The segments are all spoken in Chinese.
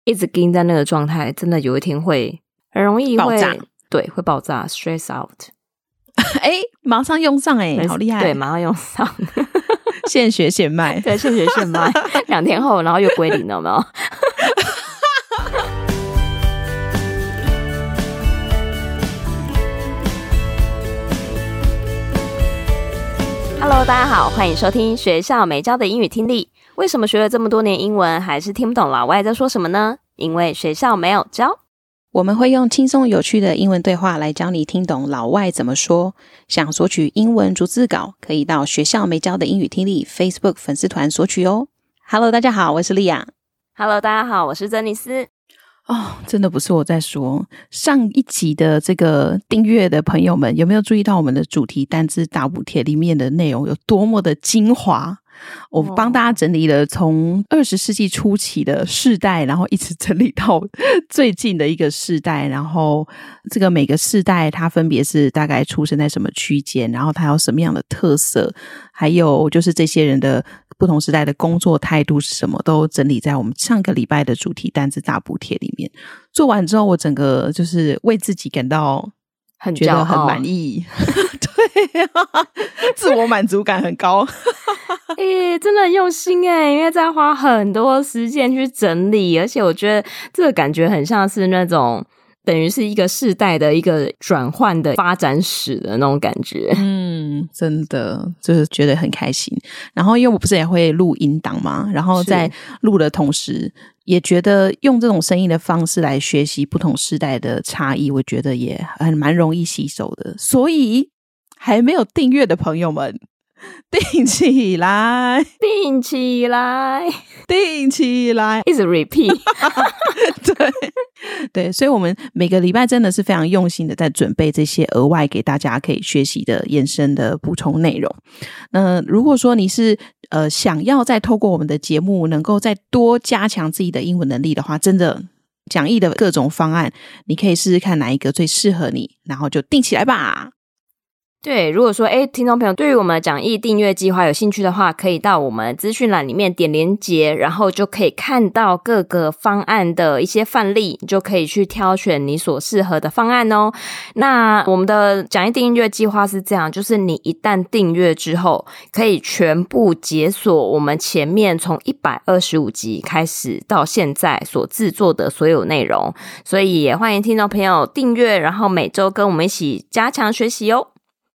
一直盯在那個狀態，真的有一天會很容易爆炸， 對，會爆炸 stress out。 馬上用上好厲害， 對，馬上用上現學現賣， 對，現學現賣2天後然後又歸零了，有沒有？Hello， 大家好，歡迎收聽學校沒教的英語聽力。為什麼學了這麼多年英文，還是聽不懂老外在說什麼呢？因為學校沒有教。 我們會用輕鬆有趣的英文對話來教你聽懂老外怎麼說。想索取英文逐字稿，可以到學校沒教的英語聽力 Facebook 粉絲團索取哦。Hello， 大家好，我是莉亞。 Hello， 大家好，我是珍妮斯。 真的不是我在說。上一集的這個訂閱的朋友們，有沒有注意到我們的主題單字大補帖裡面的內容有多麼的精華？我幫大家整理了從20世紀初期的世代，然後一直整理到最近的一個世代，然後這個每個世代它分別是大概出生在什麼區間，然後它有什麼樣的特色，還有就是這些人的不同時代的工作態度是什麼，都整理在我們上個禮拜的主題單字大補帖裡面。做完之後，我整個就是為自己感到覺得很滿意，对啊，自我滿足感很高。 真的很用心耶，因為在花很多時間去整理，而且我覺得這個感覺很像是那種等於是一個世代的一個轉換的發展史的那種感覺。 真的就是覺得很開心。然後因為我不是也會錄音檔嘛，然後在錄的同時也覺得用這種聲音的方式來學習不同世代的差異，我覺得也蠻容易吸收的。所以還沒有訂閱的朋友們，訂起來， 訂起來， 訂起來， 一直 repeat。 对，所以我們每個禮拜真的是非常用心的在準備這些額外給大家可以學習的延伸的補充內容。那如果說你是想要再透過我們的節目能夠再多加強自己的英文能力的話，真的講義的各種方案你可以試試看哪一個最適合你，然後就訂起來吧。 對，如果說聽眾朋友對於我們講義訂閱計劃有興趣的話，可以到我們資訊欄裡面點連結，然後就可以看到各個方案的一些範例，你就可以去挑選你所適合的方案哦。那我們的講義訂閱計劃是這樣，就是你一旦訂閱之後，可以全部解鎖我們前面從125集開始到現在所製作的所有內容，所以也歡迎聽眾朋友訂閱，然後每周跟我們一起加強學習哦。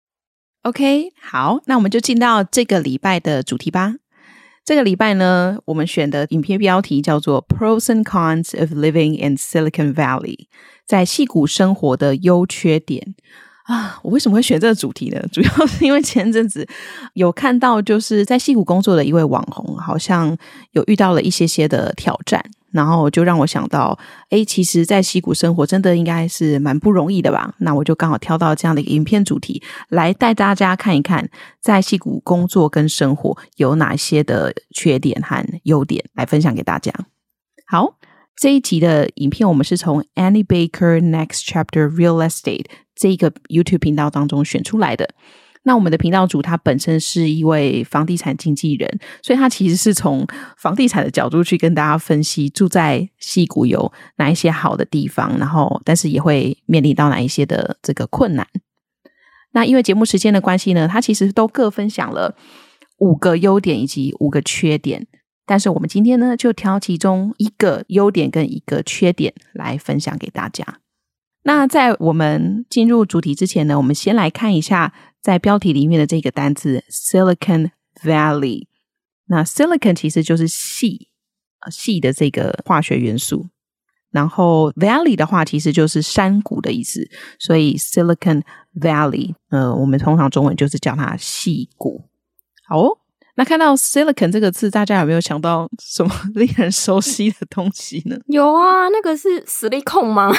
OK， 好，那我們就進到這個禮拜的主題吧。這個禮拜呢，我們選的影片標題叫做 Pros and Cons of Living in Silicon Valley， 在矽谷生活的優缺點。我為什麼會選這個主題呢？主要是因為前陣子有看到就是在矽谷工作的一位網紅，好像有遇到了一些的挑戰，然後就讓我想到其實在矽谷生活真的應該是蠻不容易的吧。那我就剛好挑到這樣的一個影片主題來帶大家看一看在矽谷工作跟生活有哪些的缺點和優點來分享給大家。好，這一集的影片我們是從 Annie Baker Next Chapter Real Estate 這個 YouTube 頻道當中選出來的。那我們的頻道主他本身是一位房地產經紀人，所以他其實是從房地產的角度去跟大家分析住在矽谷有哪一些好的地方，然後但是也會面臨到哪一些的這個困難。那因為節目時間的關係呢，他其實都各分享了5個優點以及5個缺點，但是我們今天呢就挑其中1個優點跟1個缺點來分享給大家。那在我們進入主題之前呢，我們先來看一下在標題裡面的這個單字 Silicon Valley。那 Silicon 其實就是矽的這個化學元素，然後 Valley 的話其實就是山谷的意思，所以 Silicon Valley 我們通常中文就是叫它矽谷。好哦，那看到 Silicon 這個字，大家有沒有想到什麼令人熟悉的東西呢？ 有啊，那個是silicon嗎？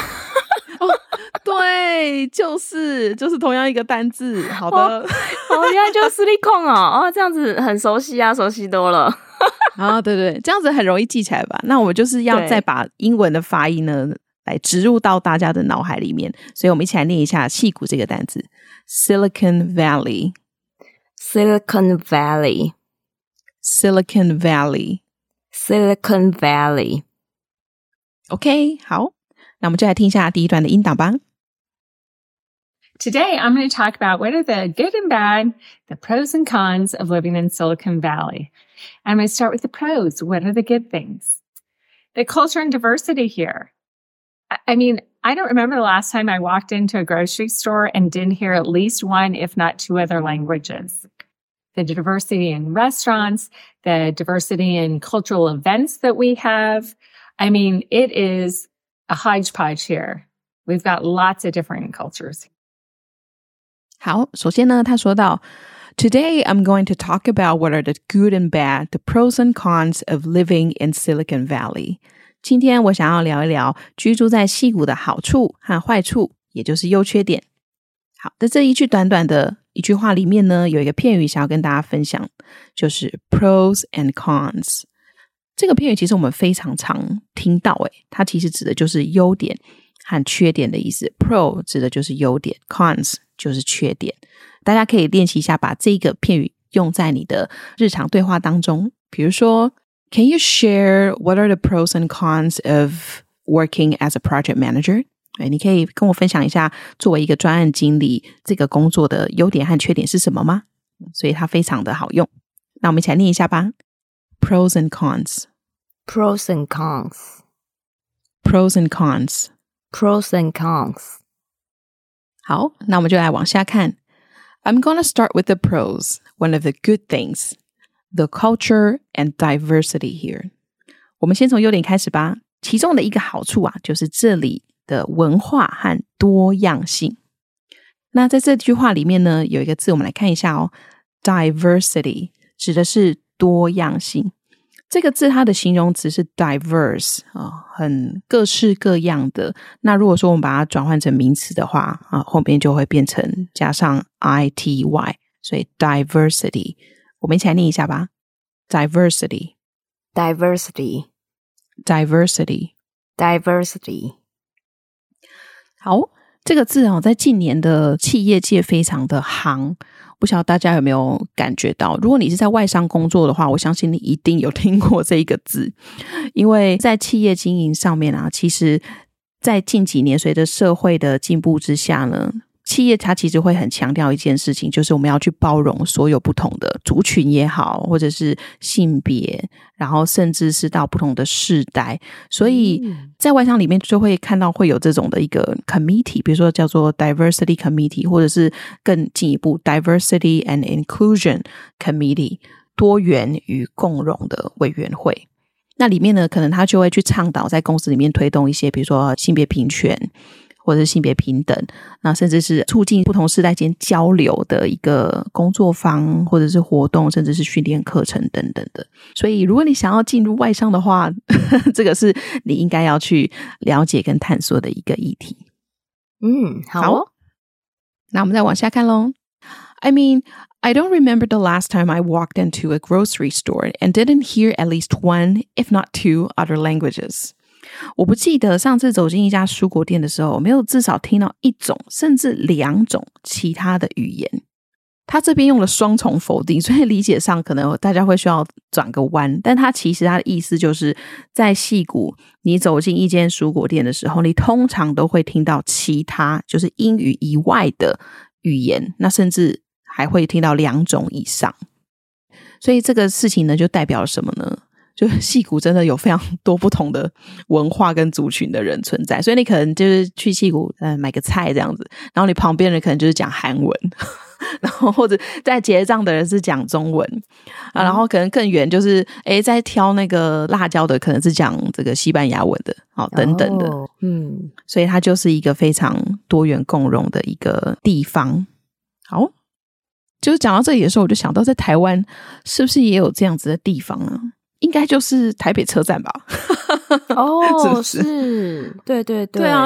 對，就是同樣一個單字。好的， 原來就是 silicon 這樣子很熟悉啊，熟悉多了。 對，這樣子很容易記起來吧？那我們就是要再把英文的發音呢來植入到大家的腦海裡面，所以我們一起來念一下矽谷這個單字 Silicon Valley Silicon Valley Silicon Valley Silicon Valley OK， 好，那我們就來聽一下第一段的音檔吧。 Today, I'm going to talk about what are the good and bad, the pros and cons of living in Silicon Valley. I'm going to start with the pros. What are the good things? The culture and diversity here. I mean, I don't remember the last time I walked into a grocery store and didn't hear at least one, if not two other languages. The diversity in restaurants, the diversity in cultural events that we have. I mean, it is a hodgepodge here. We've got lots of different cultures. 好，首先呢，他說到 Today I'm going to talk about what are the good and bad, the pros and cons of living in Silicon Valley. 今天我想要聊一聊居住在矽谷的好處和壞處，也就是優缺點。好，在這一句短短的一句話裡面呢，有一個片語想要跟大家分享，就是 pros and cons。這個片語其實我們非常常聽到，它其實指的就是優點和缺點的意思。Pro 指的就是優點， cons 就是缺點。大家可以練習一下，把這個片語用在你的日常對話當中。比如說 Can you share what are the pros and cons of working as a project manager? 你可以跟我分享一下作為一個專案經理這個工作的優點和缺點是什麼嗎？所以它非常的好用。那我們一起來念一下吧。 Pros and cons Pros and cons Pros and cons Pros and cons 好，那我們就來往下看。I'm going to start with the pros, one of the good things, the culture and diversity here. 我們先從優點開始吧。其中的一個好處啊，就是這裡的文化和多樣性。那在這句話裡面呢，有一個字我們來看一下哦， diversity 指的是多樣性。這個字它的形容詞是 diverse 很各式各樣的。那如果說我們把它轉換成名詞的話後面就會變成加上 ity， 所以 diversity。 我們一起來念一下吧。 diversity Diversity Diversity Diversity 好，這個字在近年的企業界非常的夯，不曉得大家有沒有感覺到，如果你是在外商工作的話，我相信你一定有聽過這一個字。因為在企業經營上面啊，其實在近幾年隨着社會的進步之下呢，企業它其實會很強調一件事情，就是我們要去包容所有不同的族群也好，或者是性別，然後甚至是到不同的世代。所以在外商裡面就會看到會有這種的一個 committee， 比如說叫做 diversity committee， 或者是更進一步 diversity and inclusion committee， 多元與共融的委員會。那裡面呢，可能他就會去倡導在公司裡面推動一些比如說性別平權或者是性別平等，那甚至是促進不同世代間交流的一個工作坊或者是活動，甚至是訓練課程等等的。所以如果你想要進入外商的話這個是你應該要去了解跟探索的一個議題。 好哦， 那我們再往下看咯。I mean, I don't remember the last time I walked into a grocery store and didn't hear at least one, if not two, other languages. 我不記得上次走進一家蔬果店的時候，沒有至少聽到一種甚至兩種其他的語言。他這邊用了雙重否定，所以理解上可能大家會需要轉個彎，但他其實他的意思就是在矽谷你走進一間蔬果店的時候，你通常都會聽到其他就是英語以外的語言，那甚至還會聽到兩種以上。所以這個事情呢，就代表了什麼呢？就矽谷真的有非常多不同的文化跟族群的人存在，所以你可能就是去矽谷買個菜這樣子，然後你旁邊人可能就是講韓文，然後或者在結賬的人是講中文然後可能更遠就是在挑那個辣椒的可能是講這個西班牙文的等等的所以它就是一個非常多元共融的一個地方。好，就是講到這裡的時候，我就想到在台灣是不是也有這樣子的地方啊？應該就是台北車站吧。 哦， 是不是？ 是，對對對， 對啊，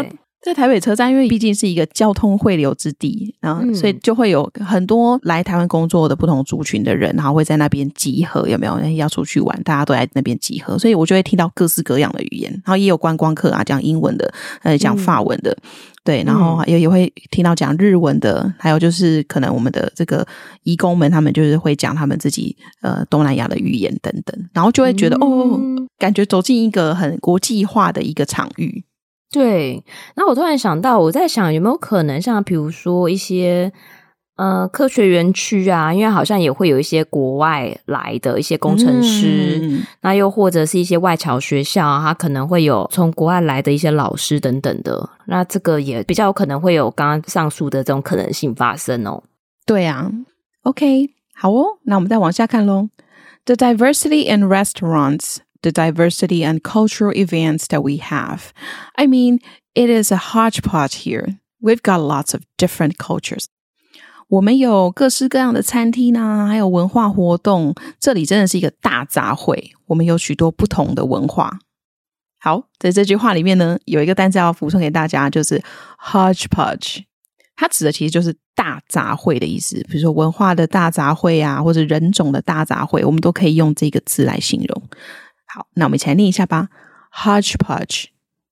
在台北車站，因為畢竟是一個交通匯流之地，然後所以就會有很多來台灣工作的不同族群的人，然後會在那邊集合，有沒有？要出去玩，大家都在那邊集合，所以我就會聽到各式各樣的語言，然後也有觀光客啊，講英文的，講法文的，對，然後也會聽到講日文的，還有就是可能我們的這個移工們，他們就是會講他們自己東南亞的語言等等，然後就會覺得感覺走進一個很國際化的一個場域。 對，那我突然想到，我在想有沒有可能像比如說一些科學園區啊，因為好像也會有一些國外來的一些工程師，那又或者是一些外僑學校啊，它可能會有從國外來的一些老師等等的，那這個也比較有可能會有剛剛上述的這種可能性發生哦。 對啊 ，OK， 好哦，那我們再往下看咯。The diversity in restaurants.The diversity and cultural events that we have. I mean, it is a hodgepodge here. We've got lots of different cultures. 我們有各式各樣的餐廳啊，還有文化活動，這裡真的是一個大雜燴，我們有許多不同的文化。好，在這句話裡面呢，有一個單詞要補充給大家，就是 hodgepodge。它指的其實就是大雜燴的意思，比如說文化的大雜燴啊，或者人種的大雜燴，我們都可以用這個字來形容。好，那我們一起來念一下吧。Hodgepodge,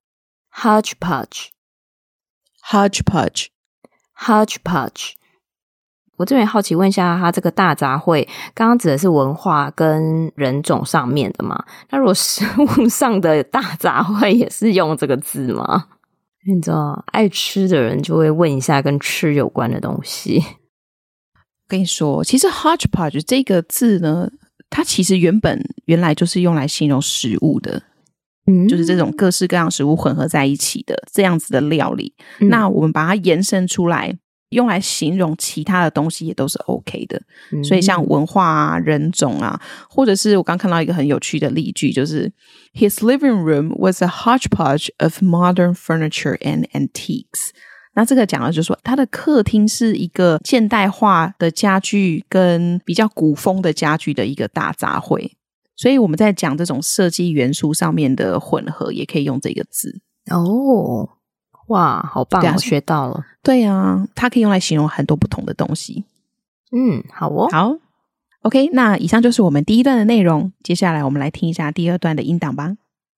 hodgepodge, hodgepodge, hodgepodge。我這邊好奇問一下，它這個大雜燴，剛剛指的是文化跟人種上面的嗎？那如果食物上的大雜燴也是用這個字嗎？你知道，愛吃的人就會問一下跟吃有關的東西。 我跟你說，其實 hodgepodge 這個字呢，它其實原來就是用來形容食物的，就是這種各式各樣食物混合在一起的這樣子的料理。那我們把它延伸出來，用來形容其他的東西也都是 OK 的。所以像文化啊、人種啊，或者是我剛看到一個很有趣的例句，就是 His living room was a hodgepodge of modern furniture and antiques。那這個講的就是說，他的客廳是一個現代化的家具跟比較古風的家具的一個大雜燴，所以我們在講這種設計元素上面的混合，也可以用這個字。 哦，哇，好棒，我學到了。 對啊，它可以用來形容很多不同的東西。 好哦， 好 ，OK， 那以上就是我們第一段的內容，接下來我們來聽一下第二段的音檔吧。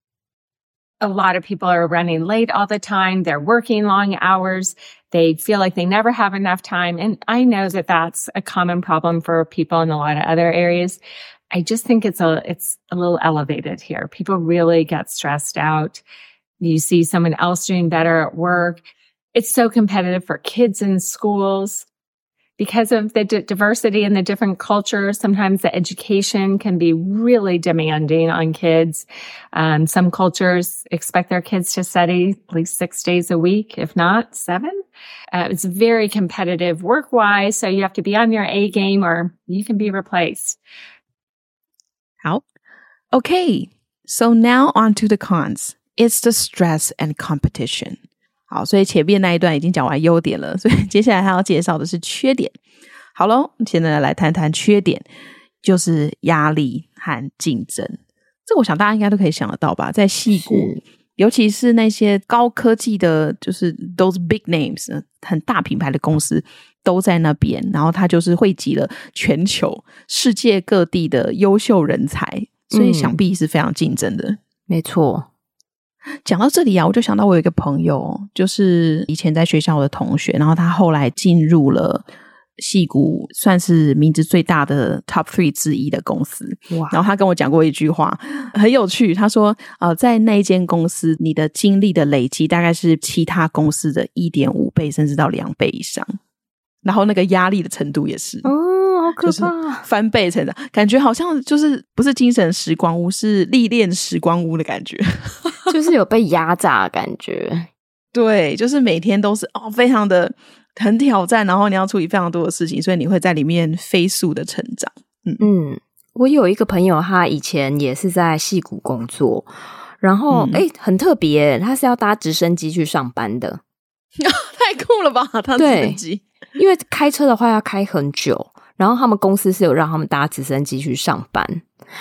A lot of people are running late all the time. They're working long hours. They feel like they never have enough time. And I know that that's a common problem for people in a lot of other areas. I just think it's a little elevated here. People really get stressed out. You see someone else doing better at work. It's so competitive for kids in schools. Because of the diversity in the different cultures, sometimes the education can be really demanding on kids. Some cultures expect their kids to study at least 6 days a week, if not 7. It's very competitive work-wise, so you have to be on your A game or you can be replaced. 好 Okay, so now on to the cons. It's the stress and competition. 好，所以前面那一段已經講完優點了，所以接下來還要介紹的是缺點。好咯，現在來談談缺點，就是壓力和競爭。這個我想大家應該都可以想得到吧，在矽谷，尤其是那些高科技的，就是 those big names， 很大品牌的公司都在那邊，然後它就是匯集了全球世界各地的優秀人才，所以想必是非常競爭的。 沒錯。 講到這裡啊，我就想到我有一個朋友，就是以前在學校的同學，然後他後來進入了矽谷算是名字最大的 top 3之一的公司。哇！然後他跟我講過一句話很有趣，他說在那一間公司你的經歷的累積大概是其他公司的 1.5 倍甚至到2倍以上，然後那個壓力的程度也是好可怕，就是翻倍成長，感覺好像就是不是精神時光屋，是歷練時光屋的感覺， 就是有被壓榨的感覺。 對，就是每天都是非常的很挑戰，然後你要處理非常多的事情，所以你會在裡面飛速的成長。 我有一個朋友，他以前也是在矽谷工作，然後很特別，他是要搭直升機去上班的。 太酷了吧，搭直升機。 因為開車的話要開很久，然後他們公司是有讓他們搭直升機去上班，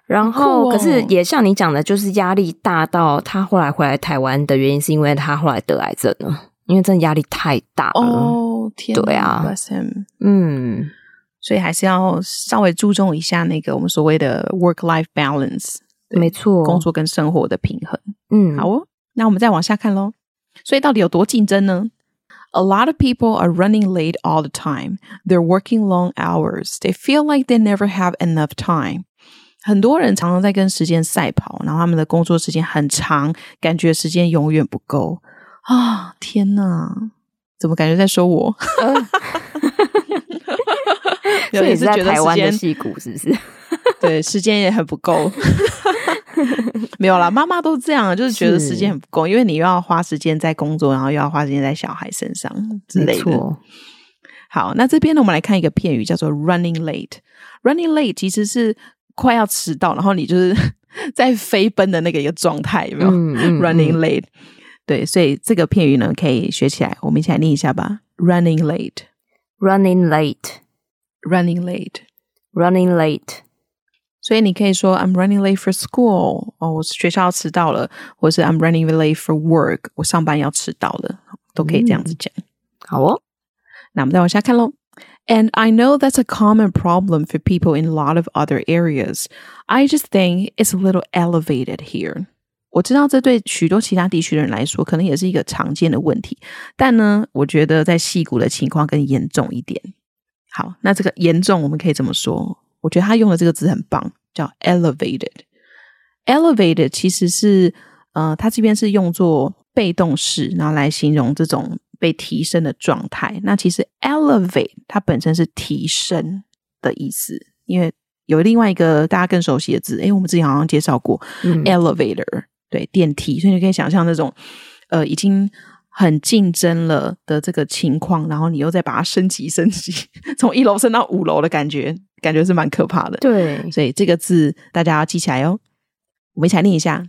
然後可是也像你講的，就是壓力大到他後來回來台灣的原因是因為他後來得癌症了，因為真的壓力太大了。 哦，天哪， 对啊 bless him。所以還是要稍微注重一下那個我們所謂的 work-life balance， 沒錯， 工作跟生活的平衡。好哦，那我們再往下看咯。所以到底有多競爭呢？ A lot of people are running late all the time. They're working long hours. They feel like they never have enough time. 很多人常常在跟時間賽跑，然後他們的工作時間很長，感覺時間永遠不夠啊！天哪，怎麼感覺在說我？ 所以是在台灣的矽谷是不是？ 對，時間也很不夠。沒有啦，媽媽都這樣，就是覺得時間很不夠，因為你又要花時間在工作，然後又要花時間在小孩身上之類的。好，那這邊呢，我們來看一個片語，叫做 running late。running late 其實是快要遲到，然後你就是在飛奔的那個一個狀態，有沒有？running late。對，所以這個片語呢，可以學起來，我們一起來念一下吧。running late。running late。running late。running late。所以你可以說 I'm running late for school， 我学校要遲到了，或是 I'm running late for work， 我上班要遲到了，都可以這樣子講。 好哦， 那我們再往下看咯。And I know that's a common problem for people in a lot of other areas. I just think it's a little elevated here. 我知道這對許多其他地區的人來說可能也是一個常見的問題，但呢，我覺得在矽谷的情況更嚴重一點。好，那這個嚴重我們可以這麼說，我覺得他用的這個字很棒，叫 elevated。elevated 其實是它這邊是用作被動式，然後來形容這種被提升的狀態。那其實 elevate 它本身是提升的意思，因為有另外一個大家更熟悉的字，我們之前好像介紹過elevator， 對，電梯。所以你可以想象那種已經很競爭了的這個情況，然後你又再把它升級，從1樓升到5樓的感覺是蠻可怕的。 對， 所以這個字大家要記起來哦。我們一起來念一下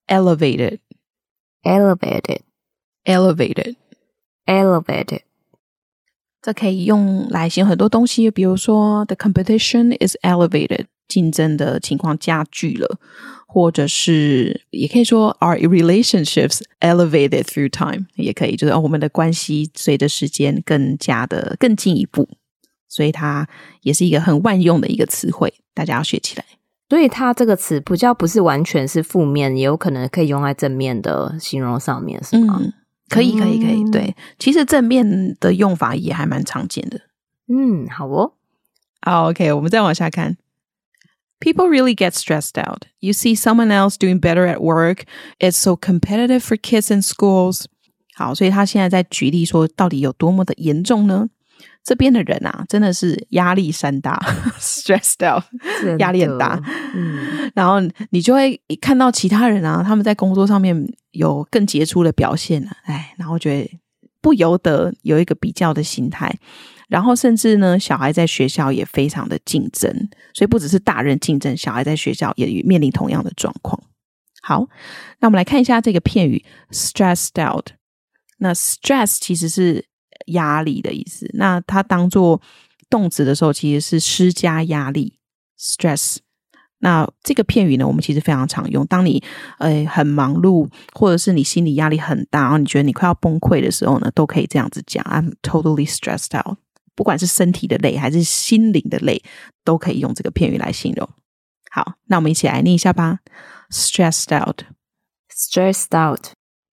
elevated。elevated。elevated。elevated。這可以用來形容很多東西，比如說 the competition is elevated， 競爭的情況加劇了，或者是也可以說 our relationships elevated through time， 也可以就是我們的關係隨着時間更進一步，所以它也是一個很萬用的一個詞彙，大家要學起來。 所以它這個詞比較不是完全是負面，也有可能可以用在正面的形容上面，是嗎？ 可以，對，其實正面的用法也還蠻常見的。 好哦。 好 OK， 我們再往下看。People really get stressed out. You see someone else doing better at work. It's so competitive for kids in schools. 好，所以他現在在舉例說到底有多麼的嚴重呢？這邊的人啊，真的是壓力山大，stressed out， 壓力很大。然後你就會看到其他人啊，他們在工作上面有更傑出的表現啊，然後覺得不由得有一個比較的心態。然後甚至呢，小孩在學校也非常的競爭，所以不只是大人競爭，小孩在學校也面臨同樣的狀況。好，那我們來看一下這個片語 stressed out。那 stress 其實是壓力的意思，那它當作動詞的時候其實是施加壓力 stress。那這個片語呢，我們其實非常常用，當你很忙碌，或者是你心理壓力很大，然後你覺得你快要崩潰的時候呢，都可以這樣子講 I'm totally stressed out。不管是身體的累還是心靈的累，都可以用這個片語來形容。好，那我們一起來念一下吧。 stressed out。 stressed out。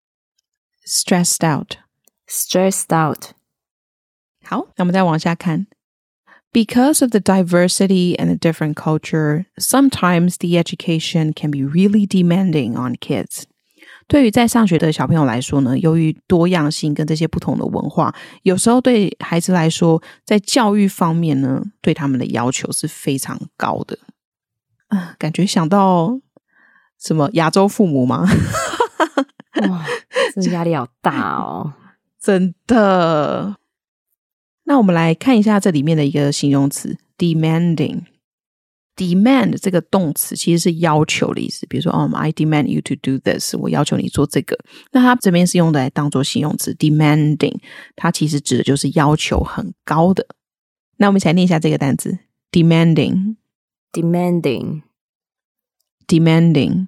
stressed out。 stressed out。 好，那我們再往下看。Because of the diversity and the different culture, sometimes the education can be really demanding on kids. 對於在上學的小朋友來說呢，由於多樣性跟這些不同的文化，有時候對孩子來說，在教育方面呢，對他們的要求是非常高的。感覺想到什麼亞洲父母嗎？ 哇，這壓力好大哦。 真的。那我們來看一下這裡面的一個形容詞 demanding。demand 這個動詞其實是要求的意思，比如說I demand you to do this， 我要求你做這個。那它這邊是用來當做形容詞 demanding， 它其實指的就是要求很高的。那我們一起來念一下這個單詞 demanding。 demanding。 demanding。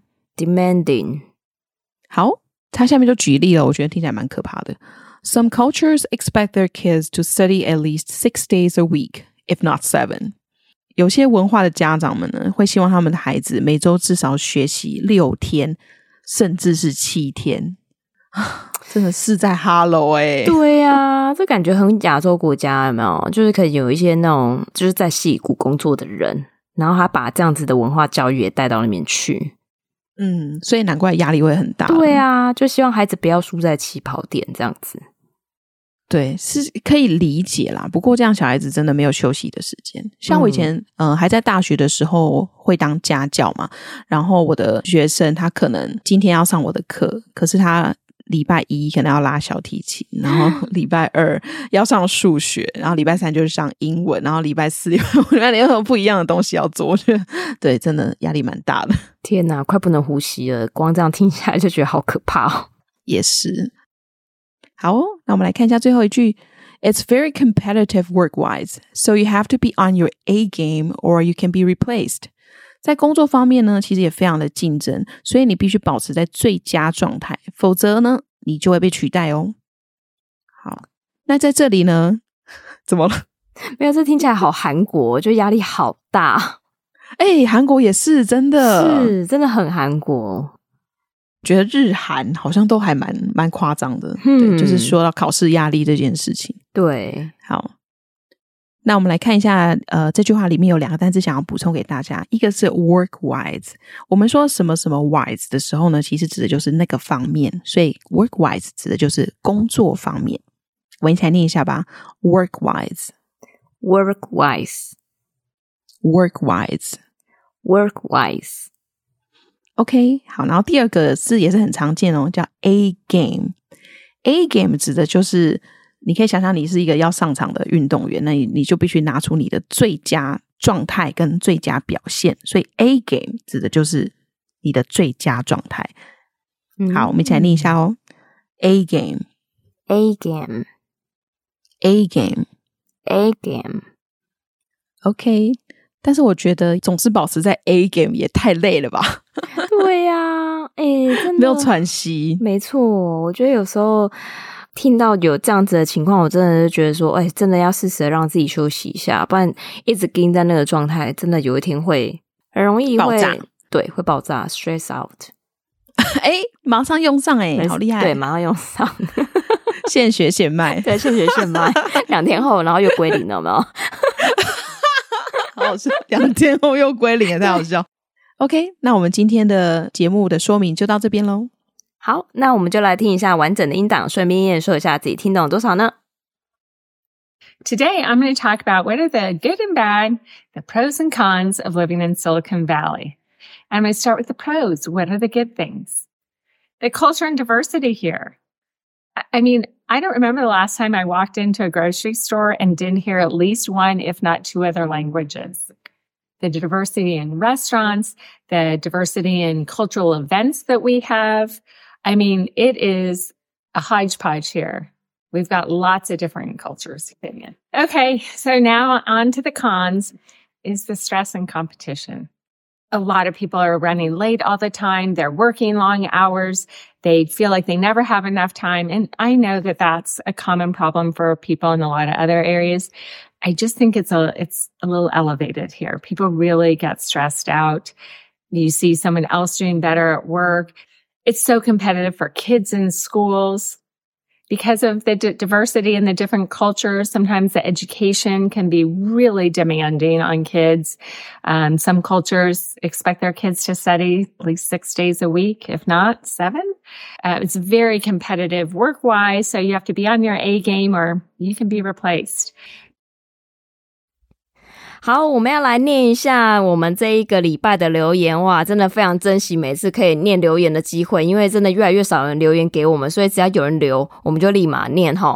好，他下面就舉例了，我覺得聽起來蠻可怕的。Some cultures expect their kids to study at least 6 days a week, if not 7. 有些文化的家長們呢，會希望他們的孩子每周至少學習6天，甚至是7天。真的是在哈嘍欸。 對啊，這感覺很亞洲國家，有沒有？就是可以有一些那種就是在矽谷工作的人，然後他把這樣子的文化教育也帶到那邊去。 所以難怪壓力會很大。 對啊，就希望孩子不要輸在起跑點這樣子。 對，是可以理解啦。不過這樣小孩子真的沒有休息的時間。像我以前還在大學的時候會當家教嘛，然後我的學生他可能今天要上我的課，可是他禮拜一可能要拉小提琴，然後禮拜二要上數學，然後禮拜三就是上英文，然後禮拜四禮拜六有不一樣的東西要做。我覺得對，真的壓力蠻大的。 天哪，快不能呼吸了，光這樣聽起來就覺得好可怕哦。 也是。好哦，那我們來看一下最後一句。It's very competitive work-wise, so you have to be on your A game or you can be replaced. 在工作方面呢，其實也非常的競爭，所以你必須保持在最佳狀態，否則呢，你就會被取代哦。好，那在這裡呢，怎麼了？ 沒有，這聽起來好韓國，就壓力好大。 韓國也是真的， 是真的很韓國。 覺得日韓好像都還蠻誇張的，對，就是說到考試壓力這件事情。 對， 好，那我們來看一下，這句話裡面有2個單字想要補充給大家，一個是 work-wise。我們說什麼什麼 wise 的時候呢，其實指的就是那個方面，所以 work-wise 指的就是工作方面。我一起來念一下吧 ，work-wise， work-wise， work-wise， work-wise。 OK， 好，然後第二個字也是很常見哦，叫 A game。A game 指的就是你可以想象你是一個要上場的運動員，那你就必須拿出你的最佳狀態跟最佳表現，所以 A game 指的就是你的最佳狀態。好，我們一起來念一下哦。A game， A game， A game， A game。 OK， 但是我覺得總是保持在 A game 也太累了吧。 對呀，真的沒有喘息。 沒錯，我覺得有時候聽到有這樣子的情況，我真的就覺得說，真的要適時的讓自己休息一下，不然一直盯在那個狀態，真的有一天會很容易會爆炸。對，會爆炸 ，stress out。 馬上用上好厲害！ 對，馬上用上， 現學現賣。對， 現學現賣。2天後，然後又歸零了，有沒有？ 好好笑，2天後又歸零，也太好笑。OK， 那我們今天的節目的說明就到這邊咯。 好，那我們就來聽一下完整的音檔，順便驗收一下自己聽懂多少呢？ Today, I'm going to talk about what are the good and bad, the pros and cons of living in Silicon Valley. I'm going to start with the pros. What are the good things? The culture and diversity here. I mean, I don't remember the last time I walked into a grocery store and didn't hear at least one, if not 2 other languages. The diversity in restaurants, the diversity in cultural events that we have. I mean, it is a hodgepodge here. We've got lots of different cultures. Okay, so now on to the cons is the stress and competition. A lot of people are running late all the time. They're working long hours. They feel like they never have enough time. And I know that that's a common problem for people in a lot of other areas. I just think it's a little elevated here. People really get stressed out. You see someone else doing better at work. It's so competitive for kids in schools. Because of the diversity in the different cultures, sometimes the education can be really demanding on kids. Some cultures expect their kids to study at least 6 days a week, if not 7. It's very competitive work-wise, so you have to be on your A game or you can be replaced. 好，我們要來念一下我們這一個禮拜的留言。哇，真的非常珍惜每次可以念留言的機會，因為真的越來越少人留言給我們，所以只要有人留，我們就立馬念齁。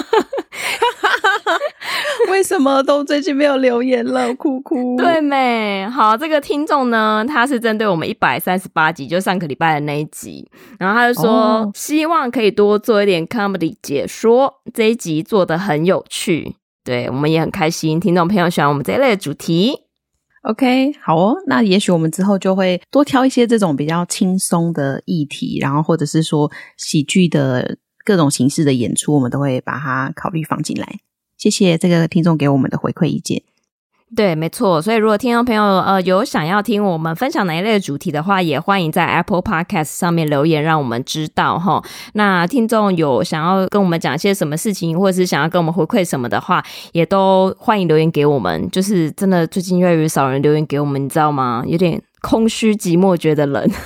為什麼都最近沒有留言了？哭哭。對沒？好，這個聽眾呢，他是針對我們138集，就上個禮拜的那一集，然後他就說，希望可以多做一點 comedy 解說，這一集做得很有趣。對，我們也很開心，聽眾朋友喜歡我們這一類的主題。 OK， 好哦，那也許我們之後就會多挑一些這種比較輕鬆的議題，然後或者是說喜劇的各種形式的演出，我們都會把它考慮放進來。謝謝這個聽眾給我們的回饋意見。 對，沒錯。所以如果聽眾朋友有想要聽我們分享哪一類的主題的話，也歡迎在 Apple Podcast 上面留言，讓我們知道齁。那聽眾有想要跟我們講些什麼事情，或者是想要跟我們回饋什麼的話，也都歡迎留言給我們。就是真的最近越來越少人留言給我們，你知道嗎？有點空虛寂寞，覺得冷。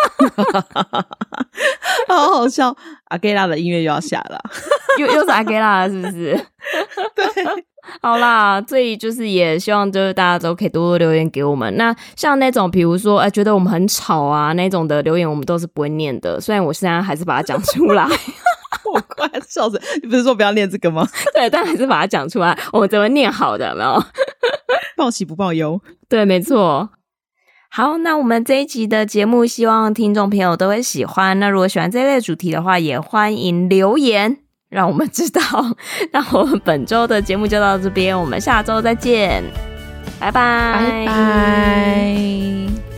好好笑，阿蓋拉的音樂又要下了。 又是阿蓋拉了，是不是？ 對。 好啦，所以就是也希望就是大家都可以多多留言給我們。那像那種比如說覺得我們很吵啊那種的留言，我们都是不會念的。雖然我現在還是把它講出來。 我快笑死！你不是說不要念這個嗎？ 對，但還是把它講出來，我們怎麼念好的，有沒有？ 報喜不報憂。對， 沒錯。好，那我們這一集的節目希望聽眾朋友都會喜歡。那如果喜歡這一類主題的話，也歡迎留言讓我們知道。那我們本周的節目就到這邊，我們下周再見，拜拜， 拜拜。